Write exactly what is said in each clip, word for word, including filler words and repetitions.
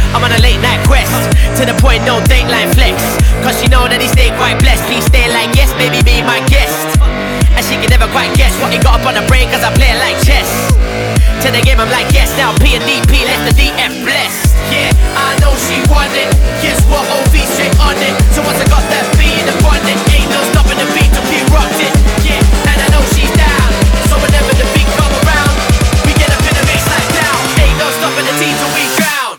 I'm on a late night quest, to the point no dateline flex. Cause she know that he stay quite blessed. Please stay like yes, baby, be my guest. And she can never quite guess what he got up on the brain, cause I play it like chess. To the game I'm like yes, now P and D P left the D F blessed. Yeah, I know she want it. Guess what, O V straight on it. So once I got that beat in the one, it ain't no stopping the beat till P rocked it. Yeah, and I know she's down. So whenever the beat come around, we get up in the mix like down. Ain't no stopping the team till we drown.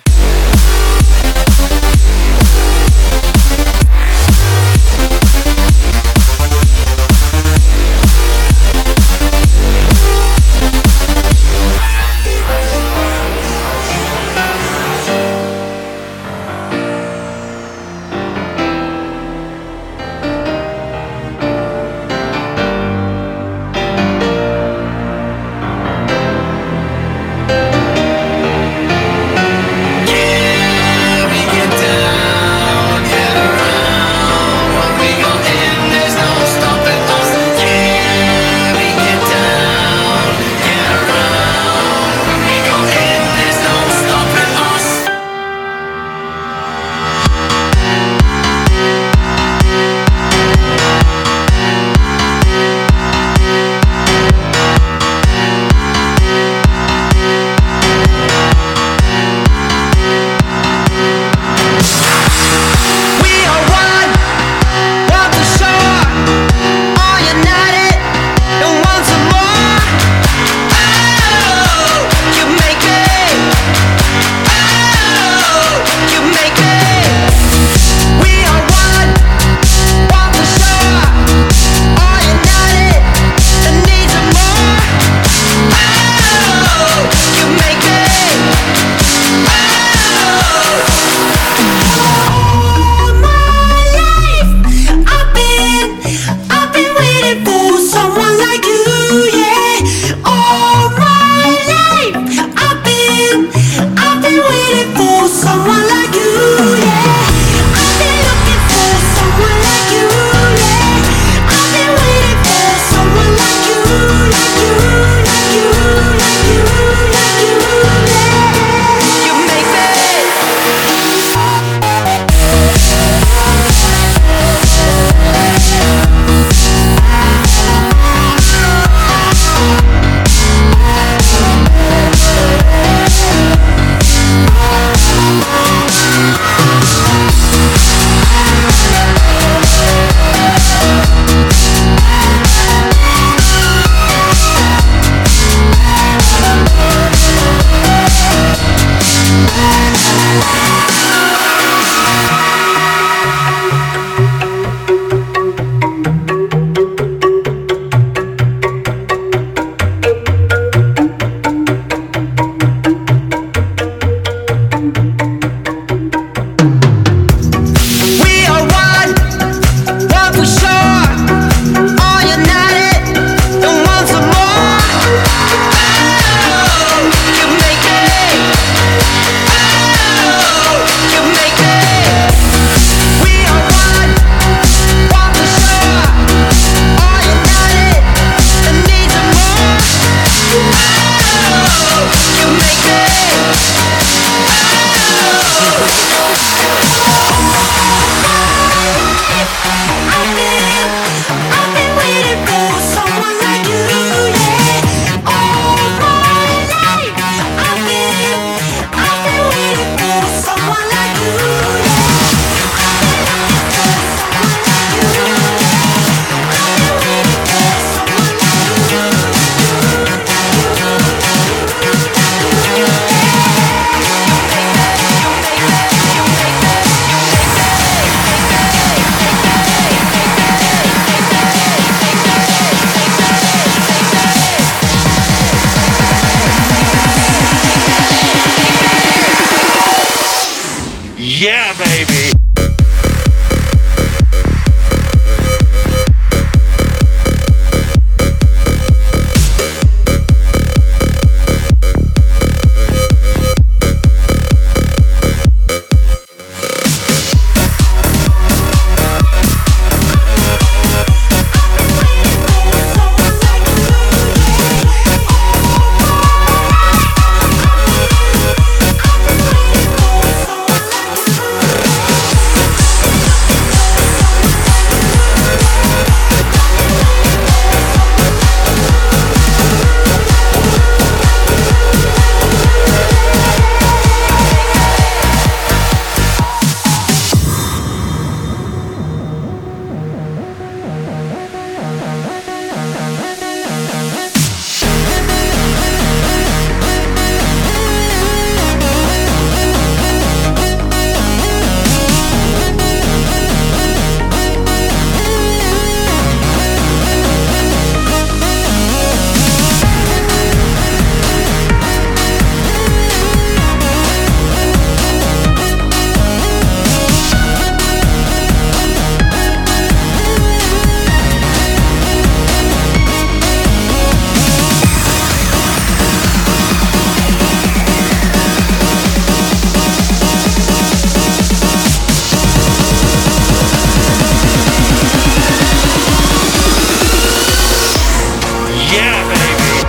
Yeah, baby.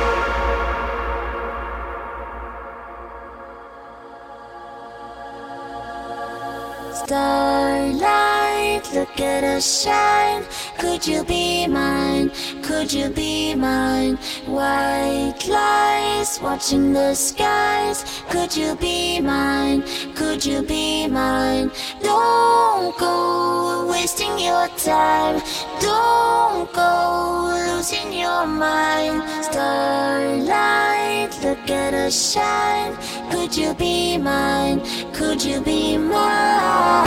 Starlight, look at us shine. Could you be mine? Could you be mine? White lies watching the skies. Could you be mine? Could you be mine? Don't go wasting your time. Don't go losing your mind. Starlight, look at us shine. Could you be mine? Could you be mine?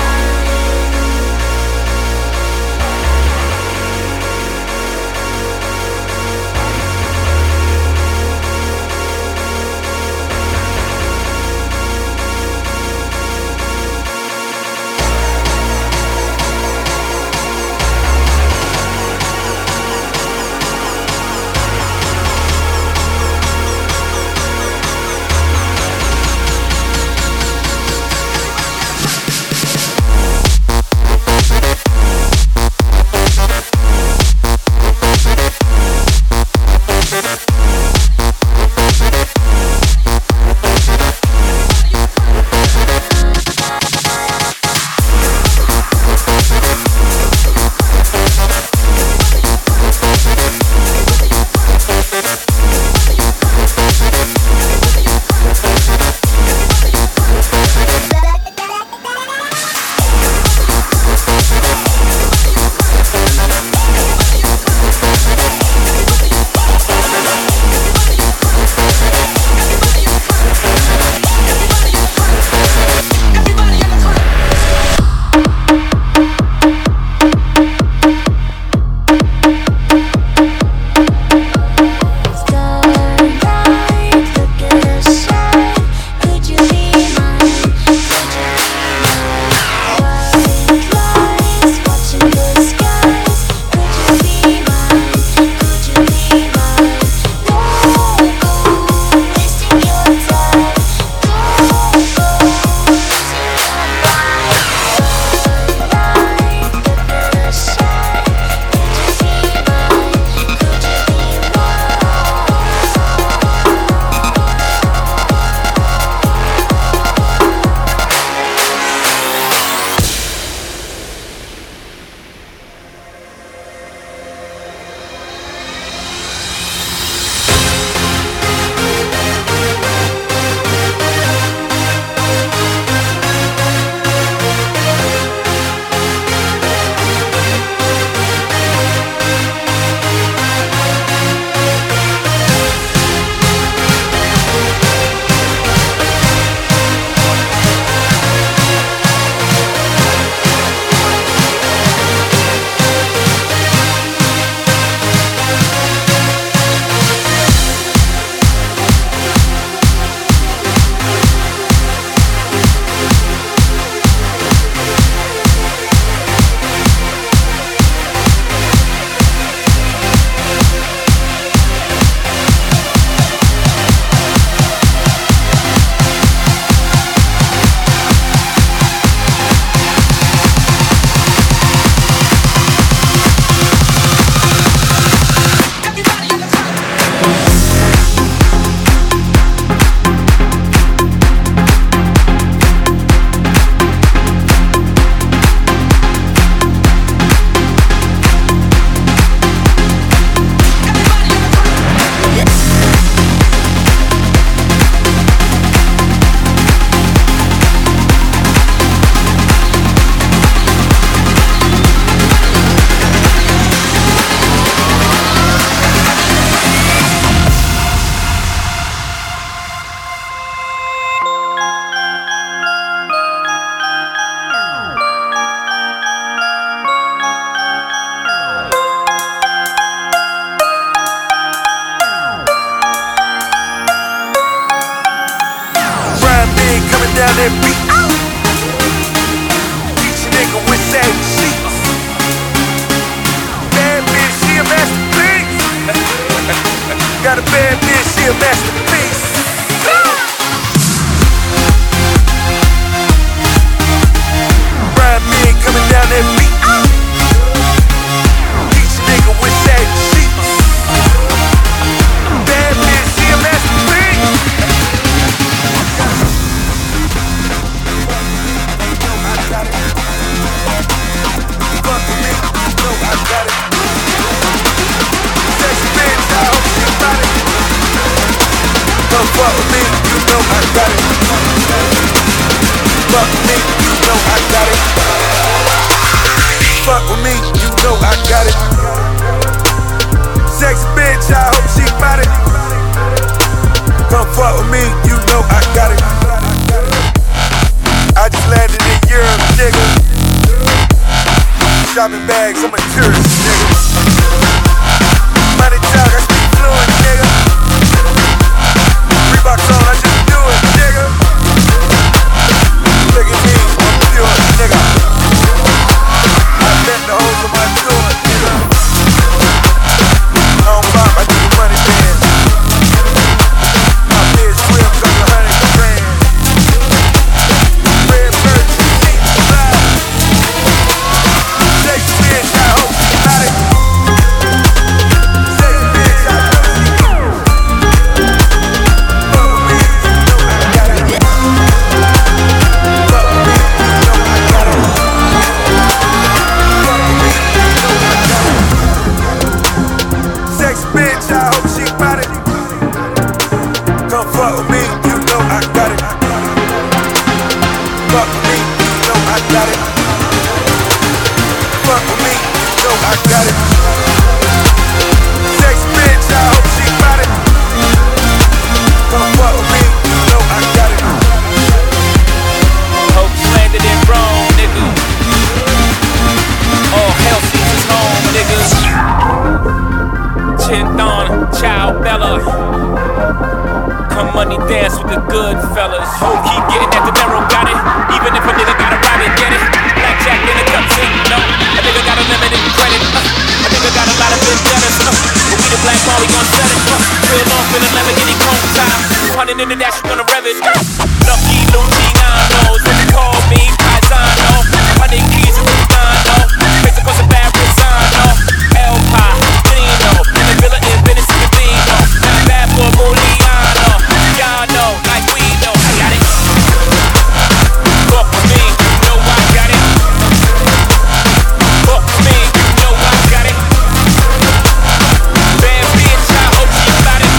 down that beat. Each nigga with that sheet. Bad bitch, she a masterpiece. Got a bad bitch, she a masterpiece. Ride me coming down that beat. Each nigga with that sheet. fuck with me, you know I got it. Fuck with me, you know I got it. Fuck with me, you know I got it. Sexy bitch, I hope she bout it. Come fuck with me, you know I got it. I just landed in Europe, nigga. Shopping bags, I'm a tourist, nigga. Money talk, I speak fluent, nigga. Reeboks on, I just do it, nigga. Look at me, I'm pure, nigga. I bet the hoes on my tour, nigga. I don't bop, I do the money dance. My bitch swim, cause a hundred grand. Red bird, see me fly. Sexy bitch, I hope she got it. Sexy bitch, I know she got it. Fuck with me, you know I got it. Fuck with me, you know I got it. Fuck with me, you know I got it. Sexy bitch, I hope she got it. Come fuck with me, you know I got it. Fuck with me, you know I got it. Fuck with me, you know I got it. Sexy bitch, I hope she got it. Come fuck with me, you know I got it. Hope landed in Rome, nigga. All hell season's home, niggas. Chinthon, Ciao Bella. Come money dance with the good fellas. Hope keep getting at the narrow, got it. Even if a nigga gotta ride it, get it. Blackjack in the cups in, no. A nigga got a limited credit. Uh. A nigga got a lot of good debtors. Uh. But we the black ball, we gon' set it. Uh. Real off in the Lamborghini chrome time. two hundred in the dash, we gonna rev it. Uh. Lucky Lucianos, when they call me Paisano. Hundred keys in the Lusano. Face across the bad Rosano. El Padrino, in the villa in Venice, Casino. Not bad for Muliano. Y'all know, like we know, I got it. Fuck with me, you know I got it. Fuck with me, you know I got it. Bad bitch, I hope she got it.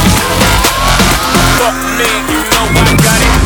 Fuck with me, you know I got it.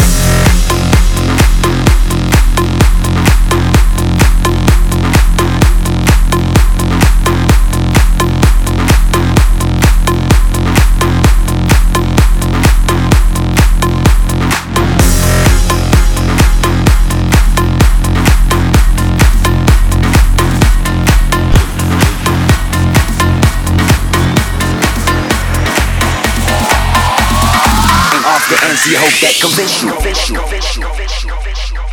The N C hope that convince you. Convince you. Convince you. Convince you.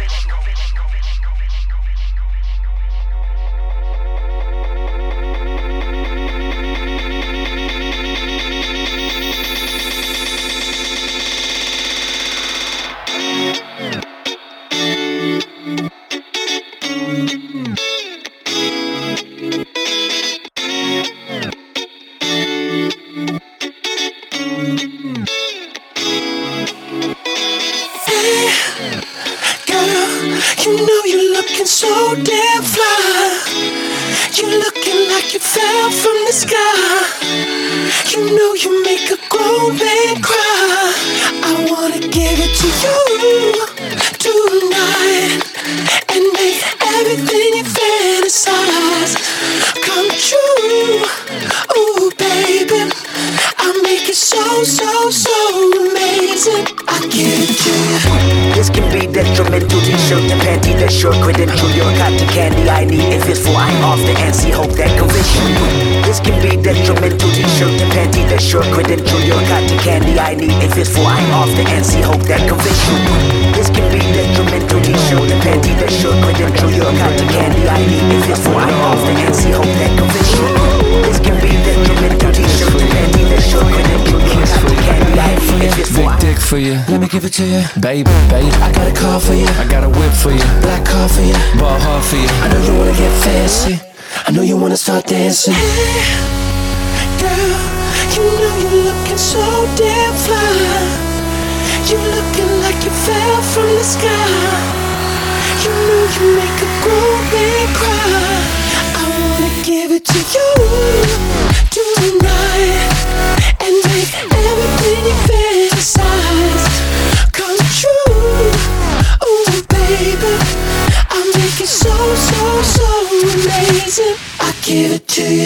You know you're looking so damn fly. You're looking like you fell from the sky. You know you make a grown man cry. I wanna give it to you tonight and make everything you fantasize come true. Ooh, baby, I'll make it so, so, so amazing. I give it to you. This can be detrimental. T-shirt and panty, that's your credential. Your cotton candy I need if it's for I'm off the N C hope that convince you. This can be detrimental. T-shirt and panty, that's your credential. Your cotton candy I need if it's for I'm off the N C hope that convince you. This can be detrimental. T-shirt and panty, that's your credential. Your cotton candy I need if it's for I'm off the N C hope that convince you. This can be detrimental. T-shirt and panty, that's your credential. Your cotton candy I need if it's for big dick for you. Let me give it to you, baby, baby. I got a car for you, I got a whip for you, black car for you, ball hard for you. I know you wanna get fancy, I know you wanna start dancing. Hey, girl, you know you're looking so damn fly. You're looking like you fell from the sky. You know you make a grown man cry. I wanna give it to you tonight and make everything you fantasize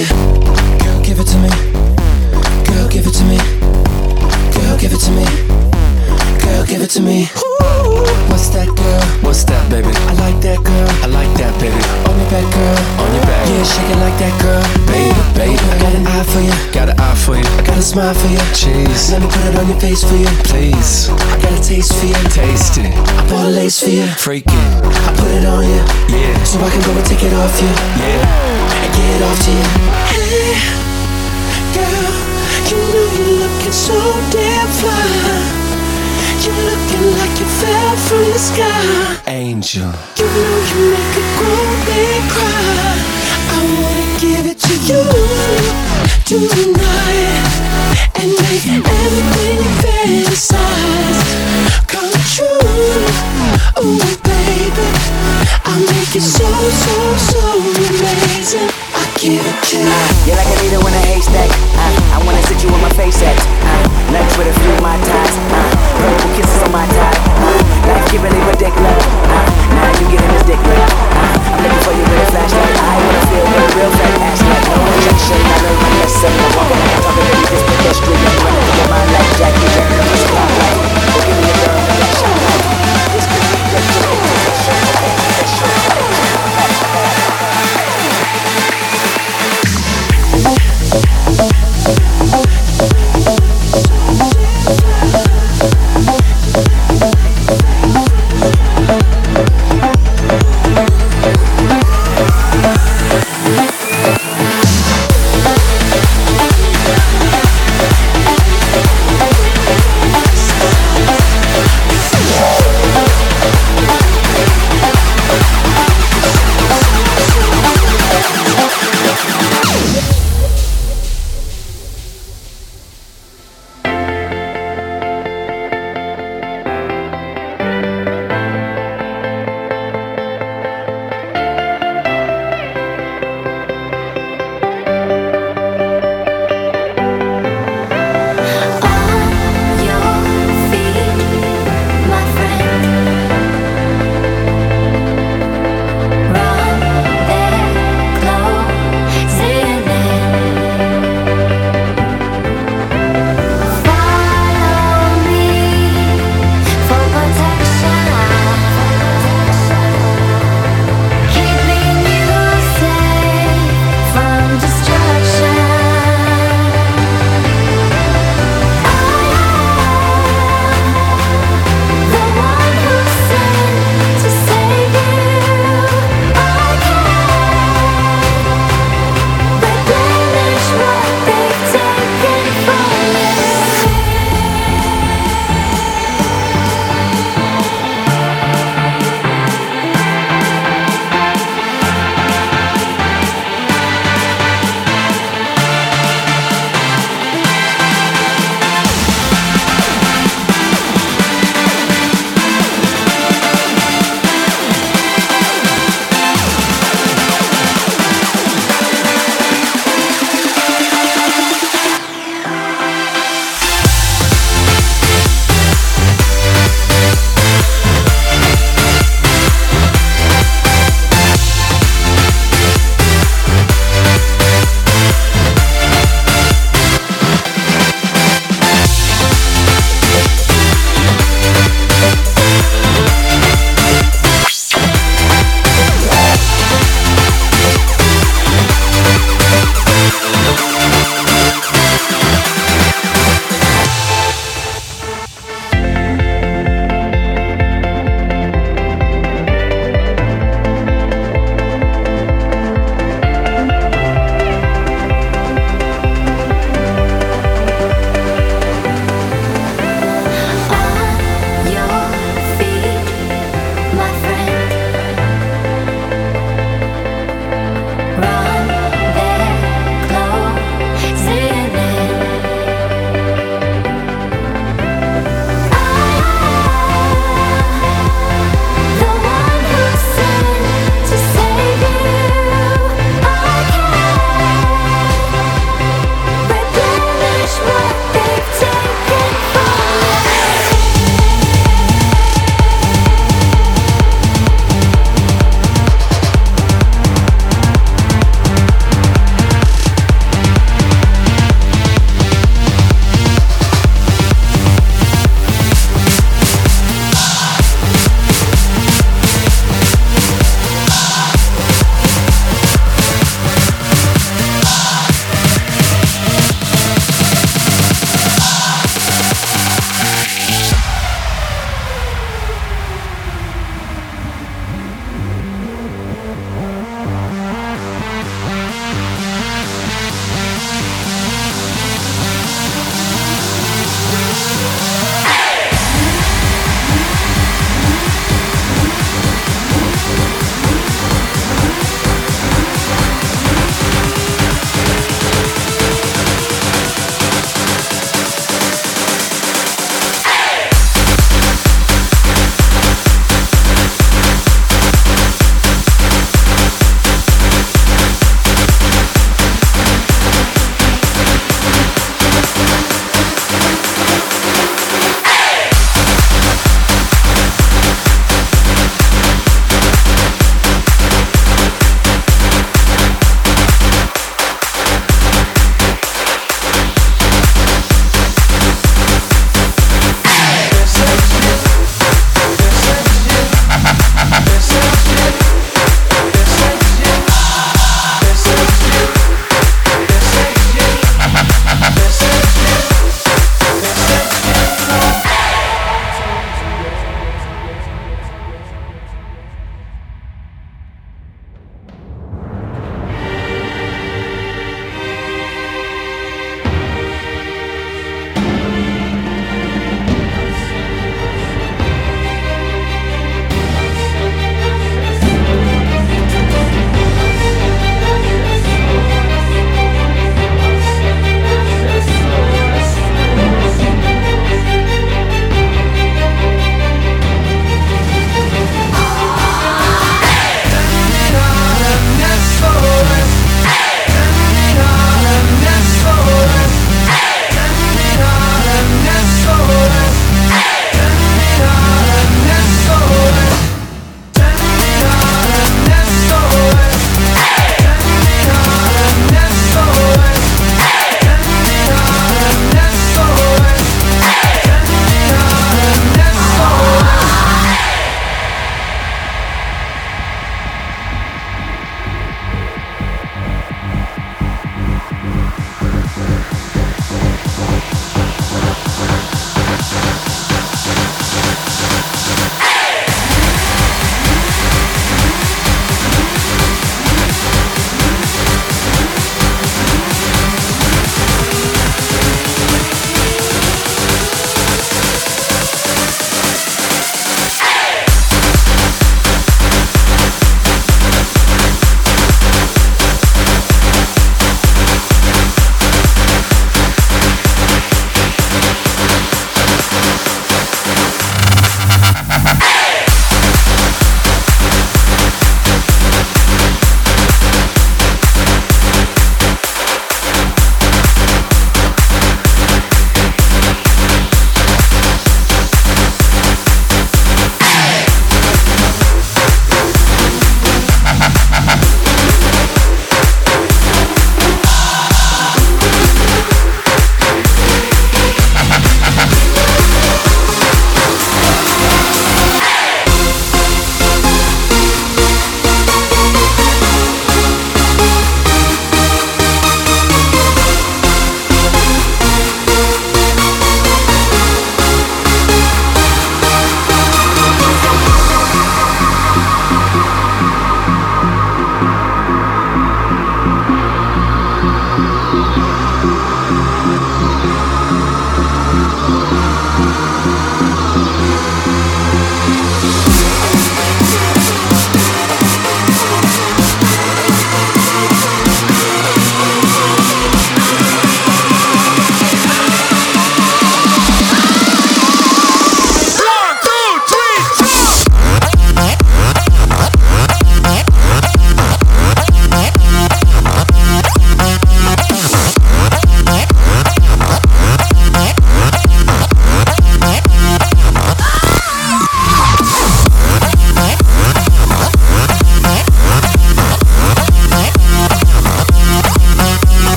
you. Girl, give it to me. Girl, give it to me. Girl, give it to me. Girl, give it to me. Ooh. What's that, girl? What's that, baby? I like that, girl. I like that, baby. On your back, girl. On your back. Yeah, shake it like that, girl. Baby, baby. I got an eye for you. Got an eye for you. I got a smile for you. Cheese. Let me put it on your face for you. Please. I got a taste for you. Taste it. I bought a lace for you. Freak it. I put it on you. Yeah. So I can go and take it off you. Yeah. And get it off to you. Hey, girl, you know you're looking so damn fly. You're looking like you fell from the sky. Angel. You know you make a grown man cry. I wanna give it to you tonight and make everything you fantasize come true. Ooh, baby, I'll make it so, so, so amazing. I give it to you. You're like a needle in a haystack. Uh, I wanna sit you on my face at. Uh, lunch with a few of my ties. Uh, purple kisses on my tie. Uh, life giving me a dick love. Uh, now you getting this dick love. Uh, I'm looking for you with a flashlight. I wanna feel with a real fat ass like no injection. I learned my lesson. I'm walking on top of it, this pedestrian. I'm running through your mind like Jackie Chan on the spotlight. Give me a girl with that shot light. This could be good to me.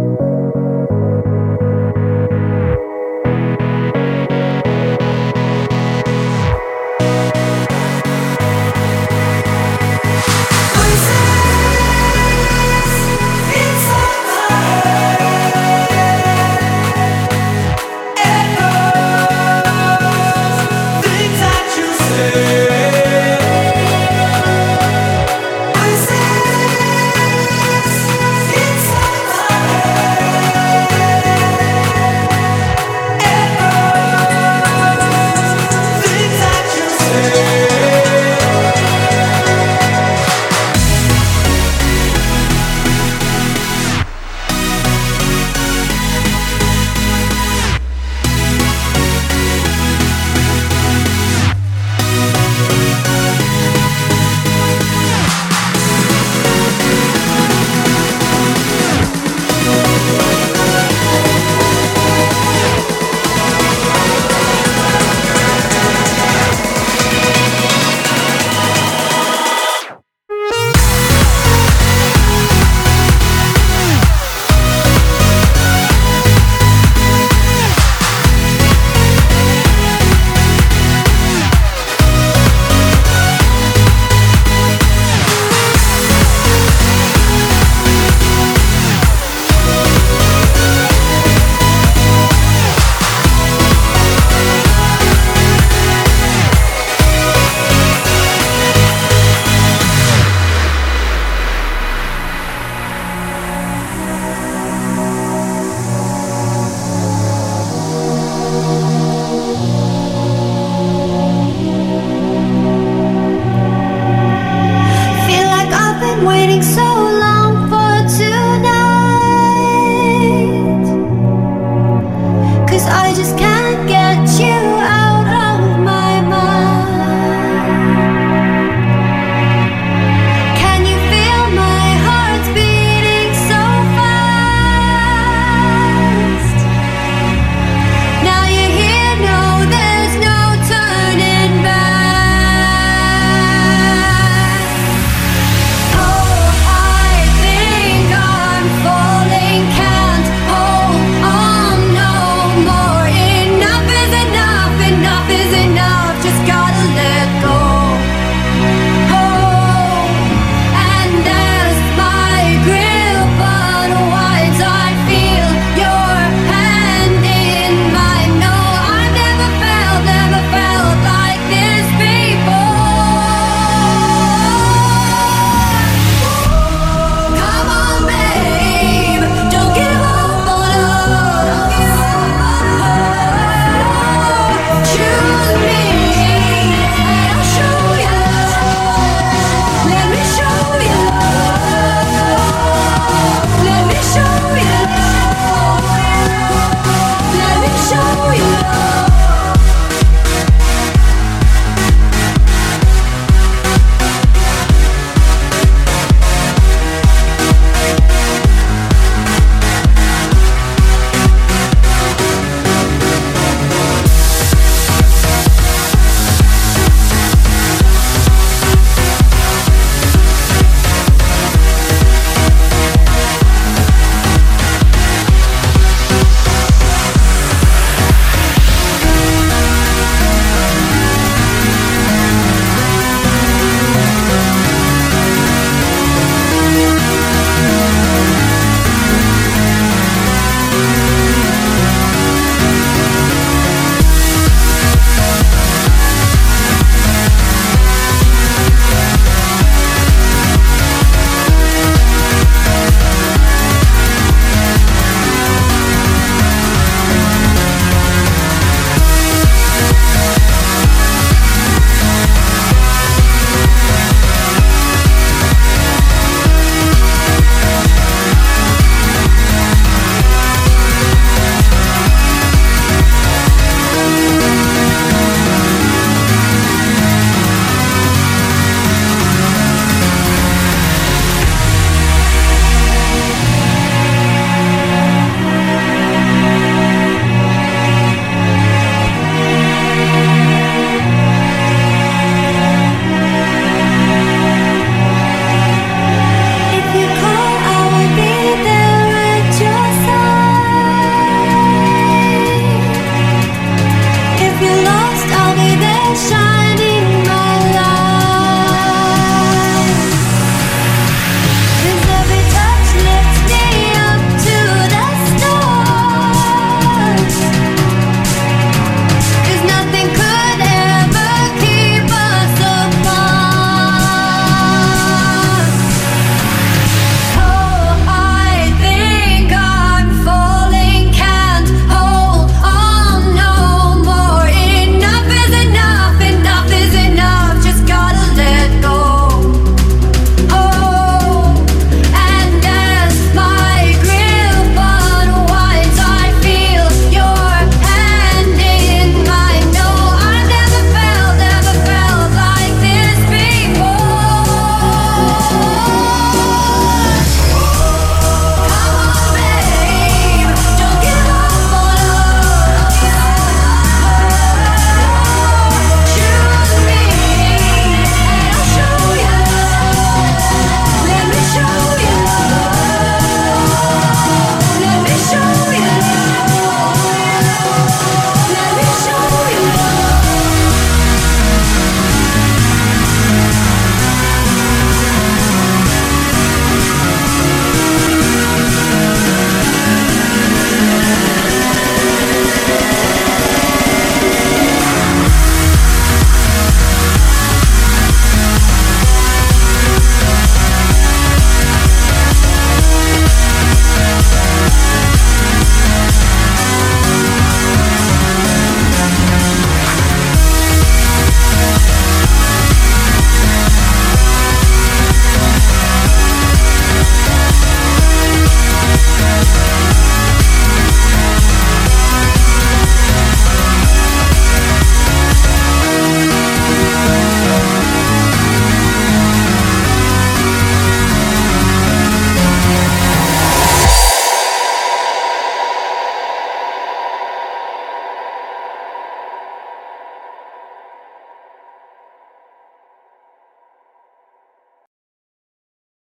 Thank